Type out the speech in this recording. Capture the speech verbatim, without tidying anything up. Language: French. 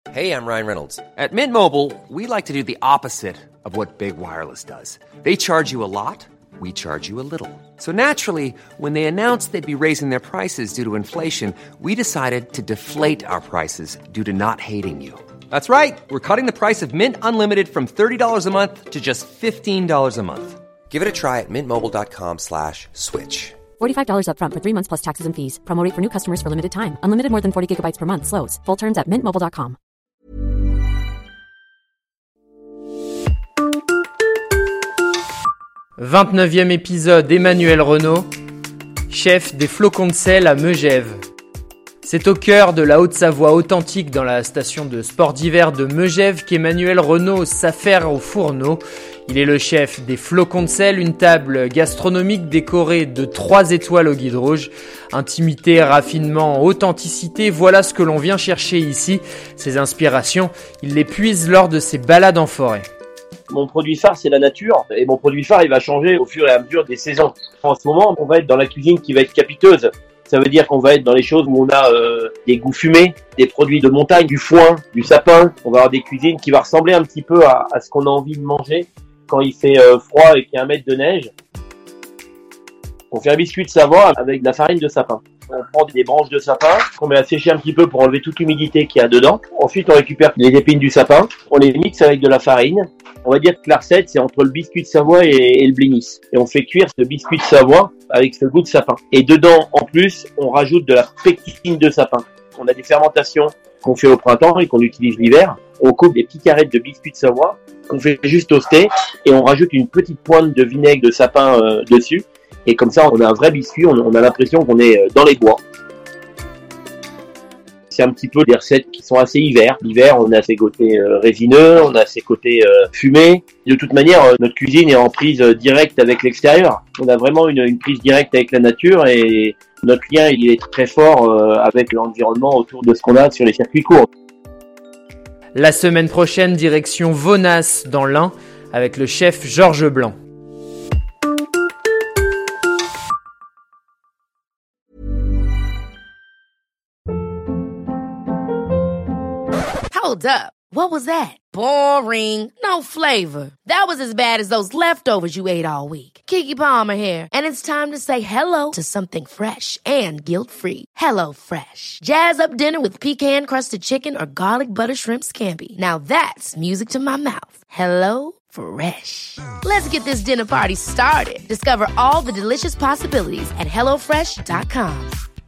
Hey, I'm Ryan Reynolds. At Mint Mobile, we like to do the opposite of what Big Wireless does. They charge you a lot, we charge you a little. So naturally, when they announced they'd be raising their prices due to inflation, we decided to deflate our prices due to not hating you. That's right. We're cutting the price of Mint Unlimited from thirty dollars a month to just fifteen dollars a month. Give it a try at mintmobile.com slash switch. forty-five dollars up front for three months plus taxes and fees. Promo rate for new customers for limited time. Unlimited more than forty gigabytes per month. Slows full terms at mint mobile dot com. vingt-neuvième épisode, Emmanuel Renault, chef des flocons de sel à Megève. C'est au cœur de la Haute-Savoie authentique dans la station de sport d'hiver de Megève qu'Emmanuel Renault s'affaire au fourneau. Il est le chef des flocons de sel, une table gastronomique décorée de trois étoiles au guide rouge. Intimité, raffinement, authenticité, voilà ce que l'on vient chercher ici. Ses inspirations, il les puise lors de ses balades en forêt. Mon produit phare, c'est la nature. Et mon produit phare, il va changer au fur et à mesure des saisons. En ce moment, on va être dans la cuisine qui va être capiteuse. Ça veut dire qu'on va être dans les choses où on a euh, des goûts fumés, des produits de montagne, du foin, du sapin. On va avoir des cuisines qui vont ressembler un petit peu à, à ce qu'on a envie de manger quand il fait euh, froid et qu'il y a un mètre de neige. On fait un biscuit de Savoie avec de la farine de sapin. On prend des branches de sapin qu'on met à sécher un petit peu pour enlever toute l'humidité qu'il y a dedans. Ensuite, on récupère les épines du sapin. On les mixe avec de la farine. On va dire que la recette, c'est entre le biscuit de Savoie et, et le blinis. Et on fait cuire ce biscuit de Savoie avec ce goût de sapin. Et dedans, en plus, on rajoute de la pectine de sapin. On a des fermentations qu'on fait au printemps et qu'on utilise l'hiver. On coupe des petites carrettes de biscuit de Savoie qu'on fait juste toaster et on rajoute une petite pointe de vinaigre de sapin euh, dessus. Et comme ça, on a un vrai biscuit, on, on a l'impression qu'on est dans les bois. C'est un petit peu des recettes qui sont assez hiver. L'hiver, on a ses côtés euh, résineux, on a ses côtés euh, fumés. De toute manière, euh, notre cuisine est en prise euh, directe avec l'extérieur. On a vraiment une, une prise directe avec la nature et notre lien, il est très fort euh, avec l'environnement autour de ce qu'on a sur les circuits courts. La semaine prochaine, direction Vonas dans l'Ain avec le chef Georges Blanc. Hold up. What was that? Boring. No flavor. That was as bad as those leftovers you ate all week. Keke Palmer here, and it's time to say hello to something fresh and guilt-free. Hello Fresh. Jazz up dinner with pecan-crusted chicken or garlic butter shrimp scampi. Now that's music to my mouth. Hello Fresh. Let's get this dinner party started. Discover all the delicious possibilities at hello fresh dot com.